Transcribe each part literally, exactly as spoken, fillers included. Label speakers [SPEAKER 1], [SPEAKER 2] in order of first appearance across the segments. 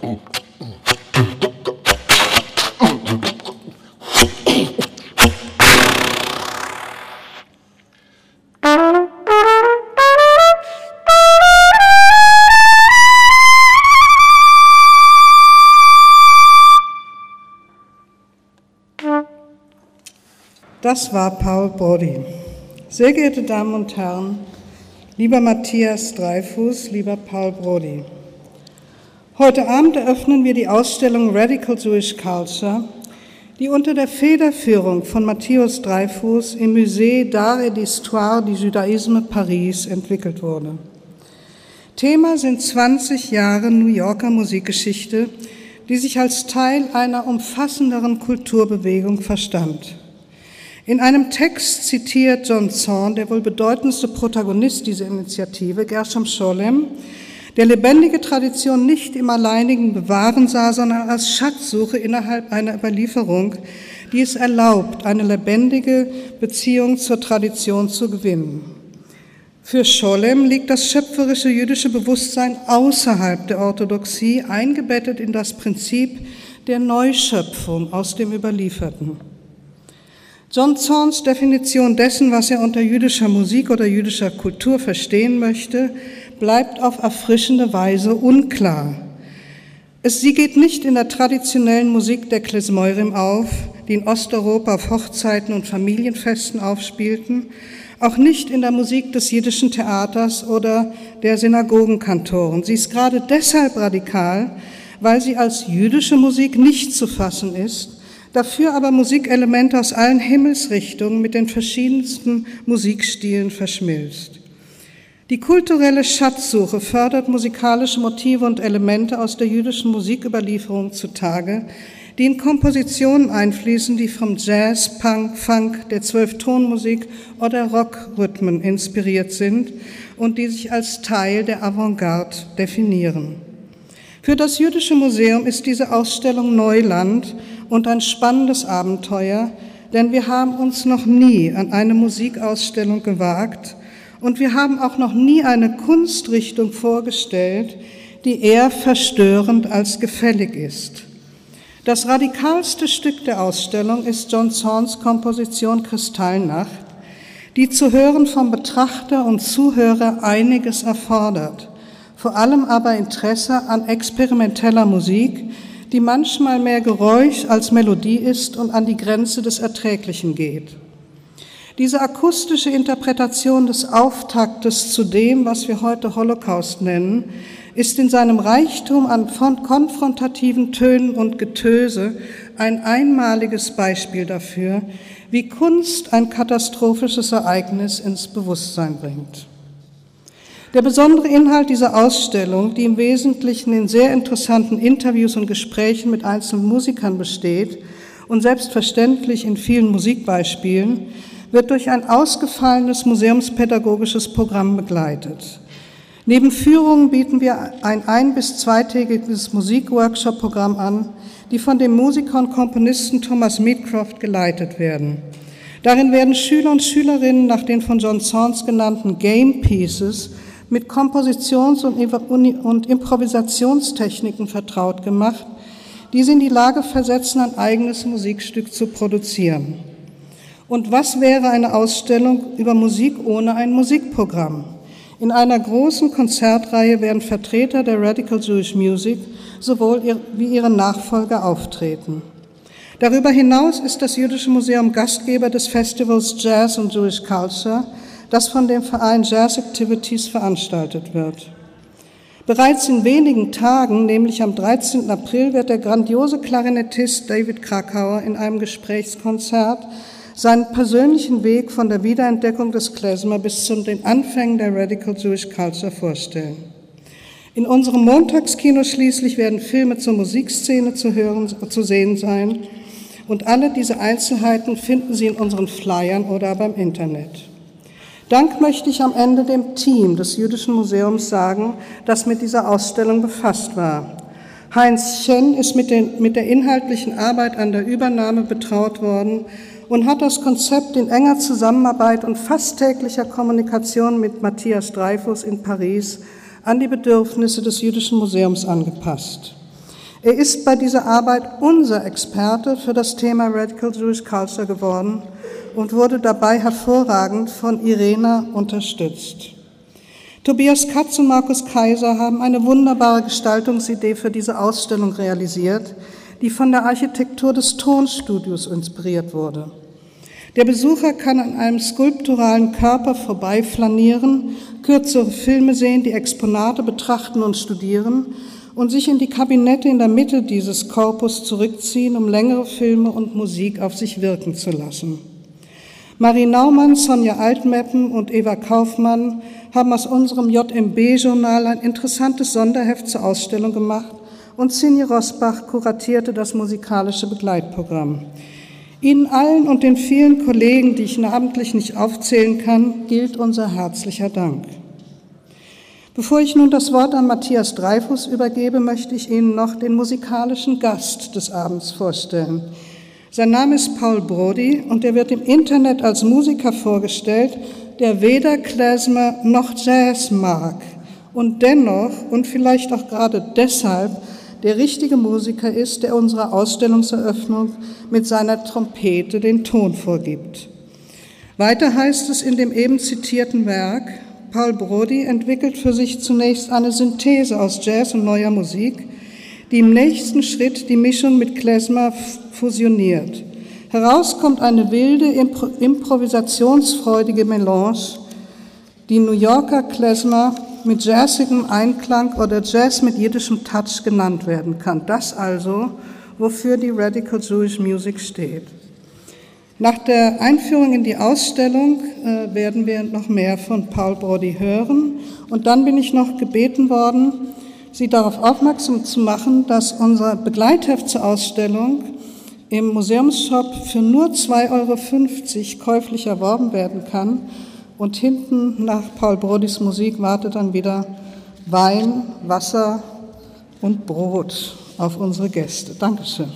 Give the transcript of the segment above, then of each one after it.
[SPEAKER 1] Das war Paul Brody. Sehr geehrte Damen und Herren, lieber Matthias Dreyfus, lieber Paul Brody. Heute Abend eröffnen wir die Ausstellung Radical Jewish Culture, die unter der Federführung von Matthias Dreyfus im Musée d'Art et d'Histoire du Judaïsme Paris entwickelt wurde. Thema sind zwanzig Jahre New Yorker Musikgeschichte, die sich als Teil einer umfassenderen Kulturbewegung verstand. In einem Text zitiert John Zorn, der wohl bedeutendste Protagonist dieser Initiative, Gershom Scholem, der lebendige Tradition nicht im alleinigen Bewahren sah, sondern als Schatzsuche innerhalb einer Überlieferung, die es erlaubt, eine lebendige Beziehung zur Tradition zu gewinnen. Für Scholem liegt das schöpferische jüdische Bewusstsein außerhalb der Orthodoxie, eingebettet in das Prinzip der Neuschöpfung aus dem Überlieferten. John Zorns Definition dessen, was er unter jüdischer Musik oder jüdischer Kultur verstehen möchte, bleibt auf erfrischende Weise unklar. Es, sie geht nicht in der traditionellen Musik der Klezmorim auf, die in Osteuropa auf Hochzeiten und Familienfesten aufspielten, auch nicht in der Musik des jiddischen Theaters oder der Synagogenkantoren. Sie ist gerade deshalb radikal, weil sie als jüdische Musik nicht zu fassen ist, dafür aber Musikelemente aus allen Himmelsrichtungen mit den verschiedensten Musikstilen verschmilzt. Die kulturelle Schatzsuche fördert musikalische Motive und Elemente aus der jüdischen Musiküberlieferung zutage, die in Kompositionen einfließen, die vom Jazz, Punk, Funk, der Zwölftonmusik oder Rockrhythmen inspiriert sind und die sich als Teil der Avantgarde definieren. Für das Jüdische Museum ist diese Ausstellung Neuland und ein spannendes Abenteuer, denn wir haben uns noch nie an eine Musikausstellung gewagt und wir haben auch noch nie eine Kunstrichtung vorgestellt, die eher verstörend als gefällig ist. Das radikalste Stück der Ausstellung ist John Zorns Komposition Kristallnacht, die zu hören vom Betrachter und Zuhörer einiges erfordert, vor allem aber Interesse an experimenteller Musik, die manchmal mehr Geräusch als Melodie ist und an die Grenze des Erträglichen geht. Diese akustische Interpretation des Auftaktes zu dem, was wir heute Holocaust nennen, ist in seinem Reichtum an konfrontativen Tönen und Getöse ein einmaliges Beispiel dafür, wie Kunst ein katastrophisches Ereignis ins Bewusstsein bringt. Der besondere Inhalt dieser Ausstellung, die im Wesentlichen in sehr interessanten Interviews und Gesprächen mit einzelnen Musikern besteht und selbstverständlich in vielen Musikbeispielen, wird durch ein ausgefallenes museumspädagogisches Programm begleitet. Neben Führungen bieten wir ein ein- bis zweitägiges Musikworkshop-Programm an, die von dem Musiker und Komponisten Thomas Meadcroft geleitet werden. Darin werden Schüler und Schülerinnen nach den von John Zorns genannten Game Pieces mit Kompositions- und Improvisationstechniken vertraut gemacht, die sie in die Lage versetzen, ein eigenes Musikstück zu produzieren. Und was wäre eine Ausstellung über Musik ohne ein Musikprogramm? In einer großen Konzertreihe werden Vertreter der Radical Jewish Music sowohl wie ihre Nachfolger auftreten. Darüber hinaus ist das Jüdische Museum Gastgeber des Festivals Jazz und Jewish Culture, das von dem Verein Jazz Activities veranstaltet wird. Bereits in wenigen Tagen, nämlich am dreizehnten April, wird der grandiose Klarinettist David Krakauer in einem Gesprächskonzert seinen persönlichen Weg von der Wiederentdeckung des Klezmer bis zu den Anfängen der Radical Jewish Culture vorstellen. In unserem Montagskino schließlich werden Filme zur Musikszene zu hören, zu sehen sein und alle diese Einzelheiten finden Sie in unseren Flyern oder beim Internet. Dank möchte ich am Ende dem Team des Jüdischen Museums sagen, das mit dieser Ausstellung befasst war. Heinz Chen ist mit, den, mit der inhaltlichen Arbeit an der Übernahme betraut worden und hat das Konzept in enger Zusammenarbeit und fast täglicher Kommunikation mit Matthias Dreyfus in Paris an die Bedürfnisse des Jüdischen Museums angepasst. Er ist bei dieser Arbeit unser Experte für das Thema Radical Jewish Culture geworden und wurde dabei hervorragend von Irena unterstützt. Tobias Katz und Markus Kaiser haben eine wunderbare Gestaltungsidee für diese Ausstellung realisiert, die von der Architektur des Tonstudios inspiriert wurde. Der Besucher kann an einem skulpturalen Körper vorbeiflanieren, kürzere Filme sehen, die Exponate betrachten und studieren und sich in die Kabinette in der Mitte dieses Korpus zurückziehen, um längere Filme und Musik auf sich wirken zu lassen. Marie Naumann, Sonja Altmeppen und Eva Kaufmann haben aus unserem J M B-Journal ein interessantes Sonderheft zur Ausstellung gemacht und Sinje Rosbach kuratierte das musikalische Begleitprogramm. Ihnen allen und den vielen Kollegen, die ich namentlich nicht aufzählen kann, gilt unser herzlicher Dank. Bevor ich nun das Wort an Matthias Dreyfus übergebe, möchte ich Ihnen noch den musikalischen Gast des Abends vorstellen. Sein Name ist Paul Brody und er wird im Internet als Musiker vorgestellt, der weder Klezmer noch Jazz mag und dennoch und vielleicht auch gerade deshalb der richtige Musiker ist, der unserer Ausstellungseröffnung mit seiner Trompete den Ton vorgibt. Weiter heißt es in dem eben zitierten Werk, Paul Brody entwickelt für sich zunächst eine Synthese aus Jazz und neuer Musik, die im nächsten Schritt die Mischung mit Klezmer fusioniert. Heraus kommt eine wilde, impro- improvisationsfreudige Melange, die New Yorker Klezmer mit jazzigem Einklang oder Jazz mit jiddischem Touch genannt werden kann. Das also, wofür die Radical Jewish Music steht. Nach der Einführung in die Ausstellung äh, werden wir noch mehr von Paul Brody hören. Und dann bin ich noch gebeten worden, Sie darauf aufmerksam zu machen, dass unser Begleitheft zur Ausstellung im Museumsshop für nur zwei Euro fünfzig käuflich erworben werden kann. Und hinten nach Paul Brodys Musik wartet dann wieder Wein, Wasser und Brot auf unsere Gäste. Dankeschön.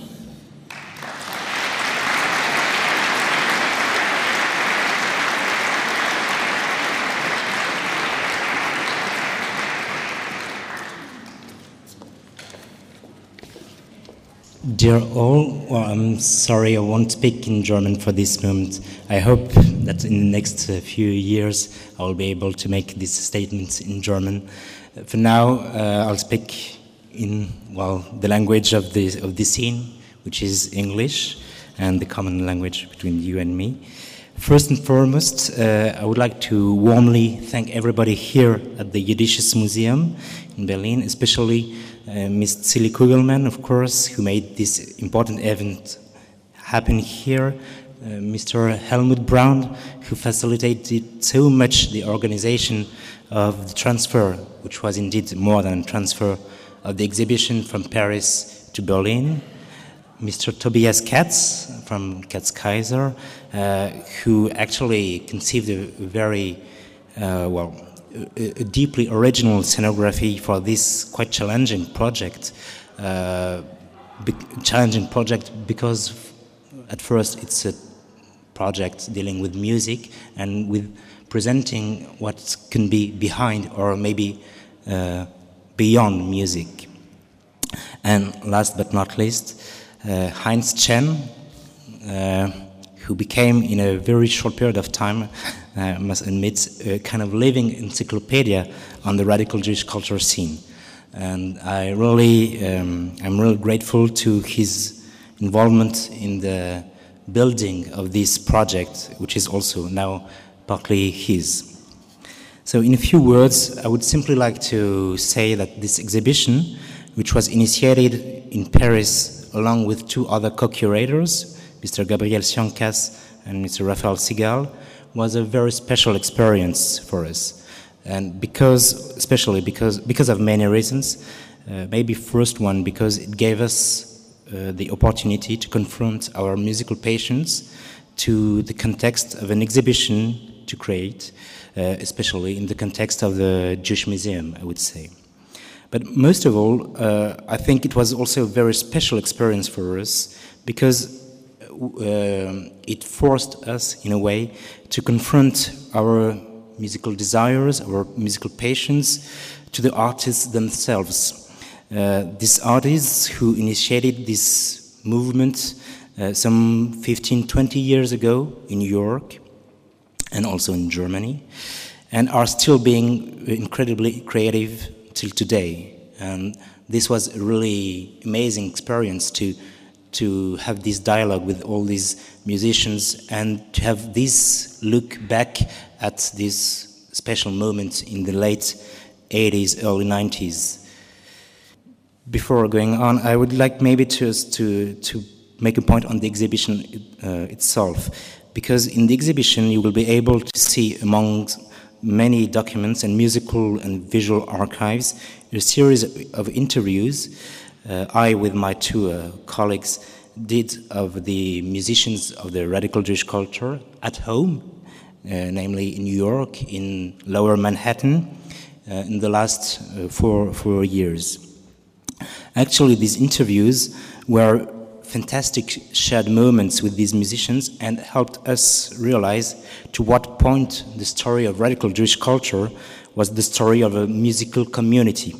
[SPEAKER 2] Dear all, well, I'm sorry I won't speak in German for this moment. I hope that in the next uh, few years I will be able to make these statements in German. Uh, for now, uh, I'll speak in, well, the language of the, of the scene, which is English, and the common language between you and me. First and foremost, uh, I would like to warmly thank everybody here at the Jiddisches Museum in Berlin, especially uh, Miss Zilli Kugelman, of course, who made this important event happen here, uh, Mister Helmut Braun, who facilitated so much the organization of the transfer, which was indeed more than a transfer of the exhibition from Paris to Berlin, Mister Tobias Katz from Katz Kaiser, uh, who actually conceived a very, uh, well, a, a deeply original scenography for this quite challenging project. Uh, be- challenging project because at first it's a project dealing with music and with presenting what can be behind or maybe uh, beyond music. And last but not least, Uh, Heinz Chen, uh, who became in a very short period of time, I uh, must admit, a kind of living encyclopedia on the radical Jewish culture scene. And I really, um, I'm really grateful to his involvement in the building of this project, which is also now partly his. So in a few words, I would simply like to say that this exhibition, which was initiated in Paris along with two other co-curators, Mister Gabriel Siancas and Mister Raphael Sigal, was a very special experience for us. And because, especially because, because of many reasons, uh, maybe first one, because it gave us uh, the opportunity to confront our musical passions to the context of an exhibition to create, uh, especially in the context of the Jewish Museum, I would say. But most of all, uh, I think it was also a very special experience for us because uh, it forced us, in a way, to confront our musical desires, our musical passions, to the artists themselves. Uh, these artists who initiated this movement uh, some fifteen, twenty years ago in New York and also in Germany, and are still being incredibly creative till today. And this was a really amazing experience to to have this dialogue with all these musicians and to have this look back at this special moment in the late eighties, early nineties. Before going on, I would like maybe to, to, to make a point on the exhibition uh, itself, because in the exhibition you will be able to see among many documents and musical and visual archives a series of interviews uh, I, with my two uh, colleagues, did of the musicians of the radical Jewish culture at home, uh, namely in New York, in Lower Manhattan, uh, in the last uh, four, four years. Actually, these interviews were fantastic shared moments with these musicians and helped us realize to what point the story of radical Jewish culture was the story of a musical community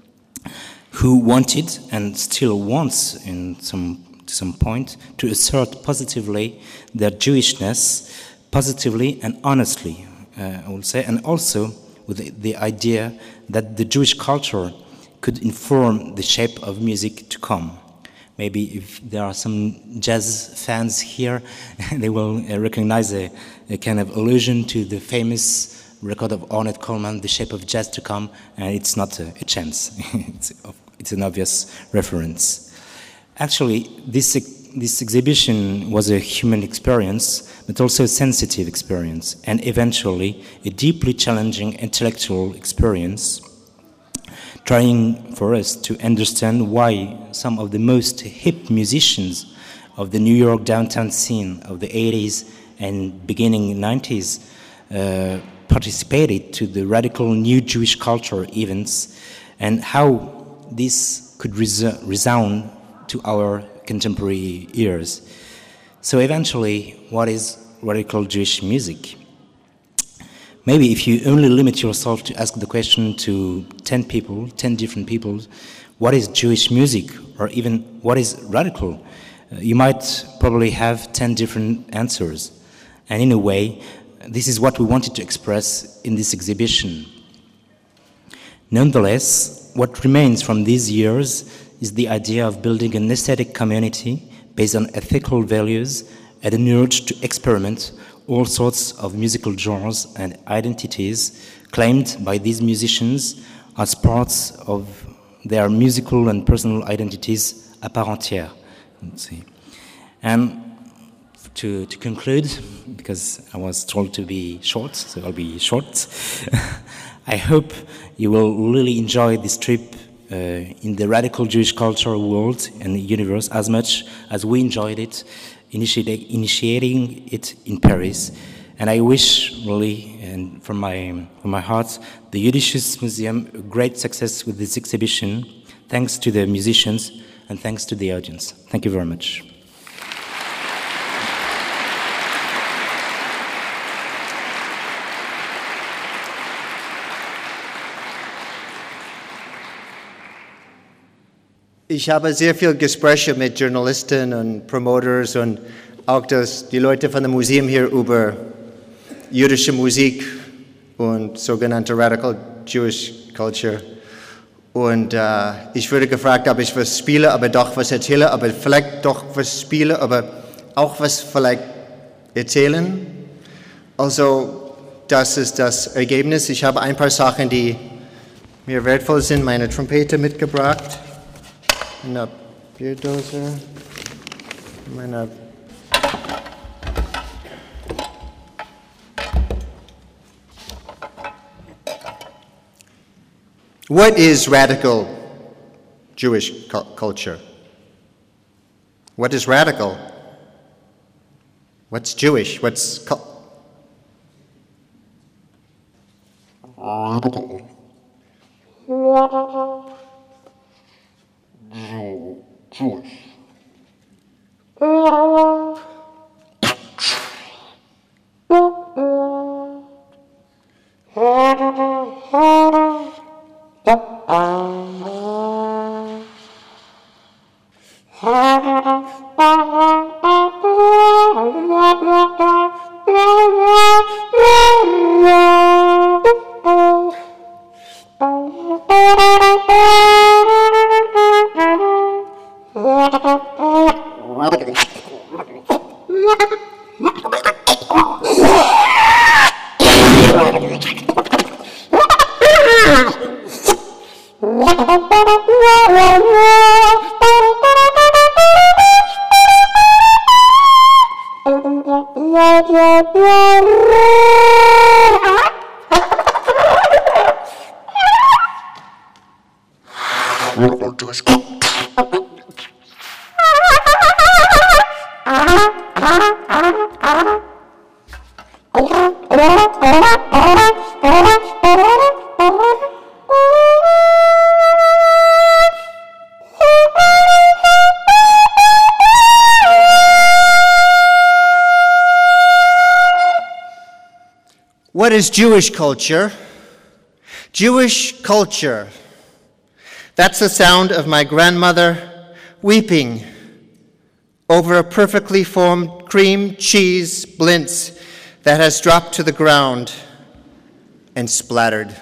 [SPEAKER 2] who wanted and still wants in some, to some point to assert positively their Jewishness, positively and honestly, uh, I will say, and also with the, the idea that the Jewish culture could inform the shape of music to come. Maybe if there are some jazz fans here, they will uh, recognize a, a kind of allusion to the famous record of Ornette Coleman, The Shape of Jazz to Come, and it's not a, a chance. it's, it's an obvious reference. Actually, this, this exhibition was a human experience, but also a sensitive experience, and eventually a deeply challenging intellectual experience, trying for us to understand why some of the most hip musicians of the New York downtown scene of the eighties and beginning nineties uh, participated to the radical new Jewish culture events, and how this could res- resound to our contemporary ears. So eventually, what is radical Jewish music? Maybe if you only limit yourself to ask the question to ten people, ten different people, what is Jewish music, or even what is radical, uh, you might probably have ten different answers. And in a way, this is what we wanted to express in this exhibition. Nonetheless, what remains from these years is the idea of building an aesthetic community based on ethical values and an urge to experiment all sorts of musical genres and identities claimed by these musicians as parts of their musical and personal identities à part entière. Let's see. And to, to conclude, because I was told to be short, so I'll be short, I hope you will really enjoy this trip uh, in the radical Jewish cultural world and universe as much as we enjoyed it Initiating, initiating it in Paris. And I wish really, and from my, from my heart, the Jüdisches Museum a great success with this exhibition, thanks to the musicians and thanks to the audience. Thank you very much.
[SPEAKER 3] Ich habe sehr viele Gespräche mit Journalisten und Promoters und auch das, die Leute von dem Museum hier über jüdische Musik und sogenannte Radical Jewish Culture. Und äh, ich wurde gefragt, ob ich was spiele, aber doch was erzähle, aber vielleicht doch was spiele, aber auch was vielleicht erzählen. Also das ist das Ergebnis. Ich habe ein paar Sachen, die mir wertvoll sind, meine Trompete mitgebracht. Meine Bierdose, meine What is radical Jewish cu- culture? What is radical? What's Jewish? What's cu-
[SPEAKER 4] Radical. Jewish.
[SPEAKER 3] What is Jewish culture? Jewish culture. That's the sound of my grandmother weeping over a perfectly formed cream cheese blintz that has dropped to the ground and splattered.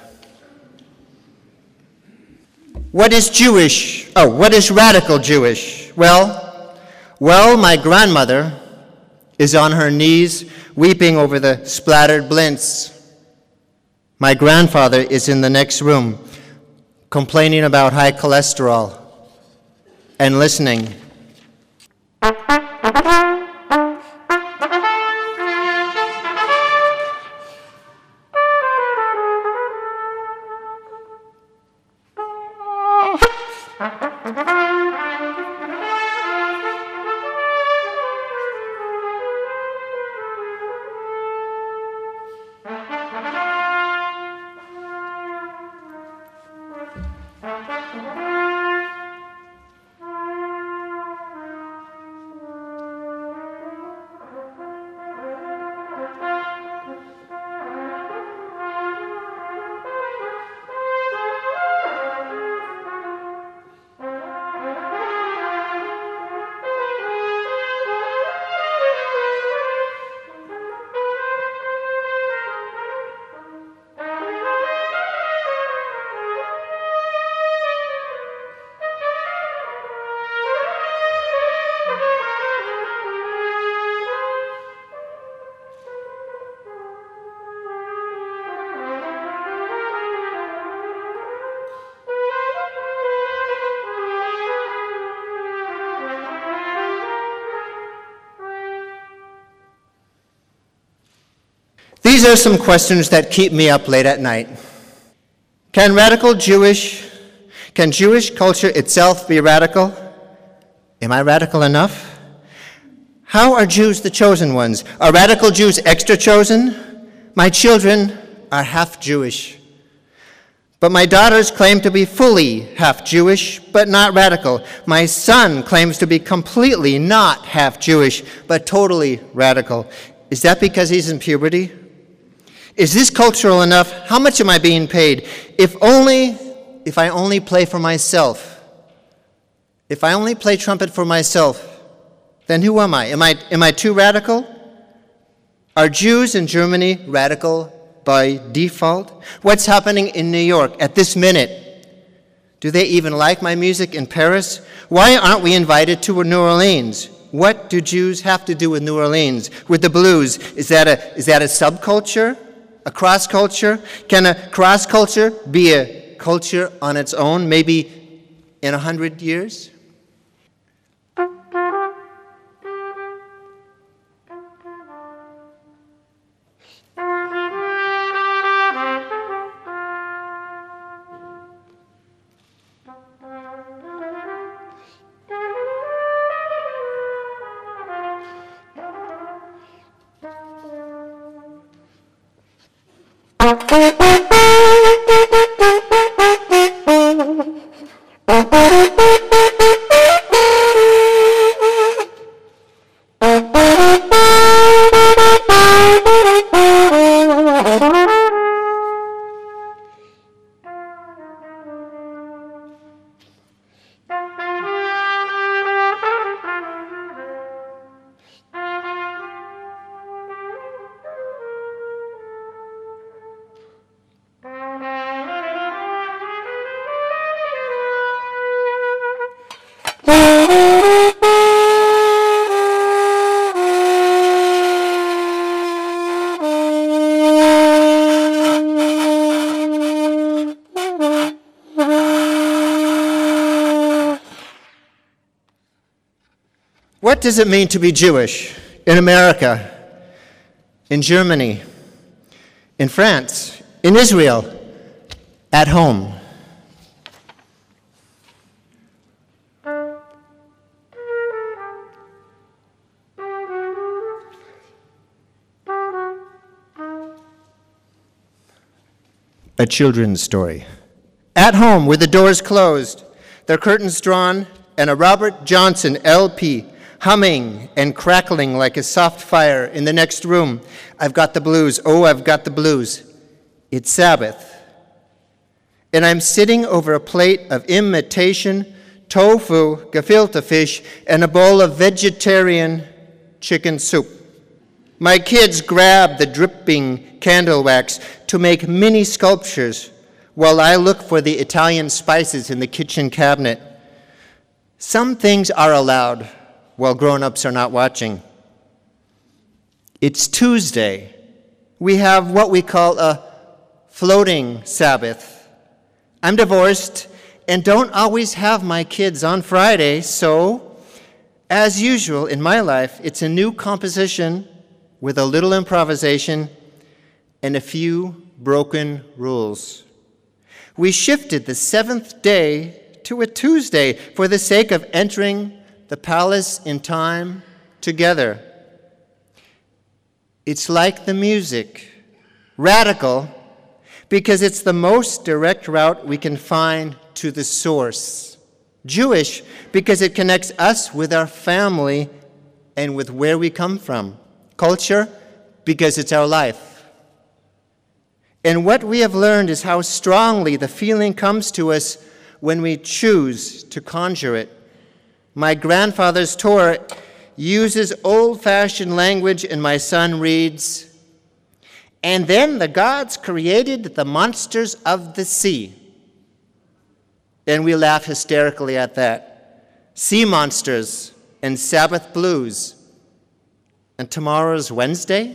[SPEAKER 3] What is Jewish? Oh, what is radical Jewish? Well, well, my grandmother is on her knees weeping over the splattered blintz. My grandfather is in the next room complaining about high cholesterol and listening. These are some questions that keep me up late at night. Can radical Jewish, can Jewish culture itself be radical? Am I radical enough? How are Jews the chosen ones? Are radical Jews extra chosen? My children are half Jewish. But my daughters claim to be fully half Jewish, but not radical. My son claims to be completely not half Jewish, but totally radical. Is that because he's in puberty? Is this cultural enough? How much am I being paid? If only, if I only play for myself, if I only play trumpet for myself, then who am I? Am I, am I too radical? Are Jews in Germany radical by default? What's happening in New York at this minute? Do they even like my music in Paris? Why aren't we invited to New Orleans? What do Jews have to do with New Orleans, with the blues? Is that a, is that a subculture? A cross-culture? Can a cross-culture be a culture on its own, maybe in a hundred years? What does it mean to be Jewish in America, in Germany, in France, in Israel, at home? A children's story. At home, with the doors closed, the curtains drawn, and a Robert Johnson L P humming and crackling like a soft fire in the next room. I've got the blues. Oh, I've got the blues. It's Sabbath. And I'm sitting over a plate of imitation tofu, gefilte fish, and a bowl of vegetarian chicken soup. My kids grab the dripping candle wax to make mini sculptures while I look for the Italian spices in the kitchen cabinet. Some things are allowed while grown-ups are not watching. It's Tuesday. We have what we call a floating Sabbath. I'm divorced and don't always have my kids on Friday, so as usual in my life, it's a new composition with a little improvisation and a few broken rules. We shifted the seventh day to a Tuesday for the sake of entering the palace in time together. It's like the music, radical, because it's the most direct route we can find to the source. Jewish, because it connects us with our family and with where we come from. Culture, because it's our life. And what we have learned is how strongly the feeling comes to us when we choose to conjure it. My grandfather's Torah uses old-fashioned language, and my son reads, "And then the gods created the monsters of the sea." And we laugh hysterically at that. Sea monsters and Sabbath blues. And tomorrow's Wednesday?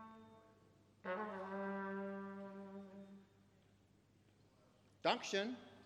[SPEAKER 3] Dankeschön.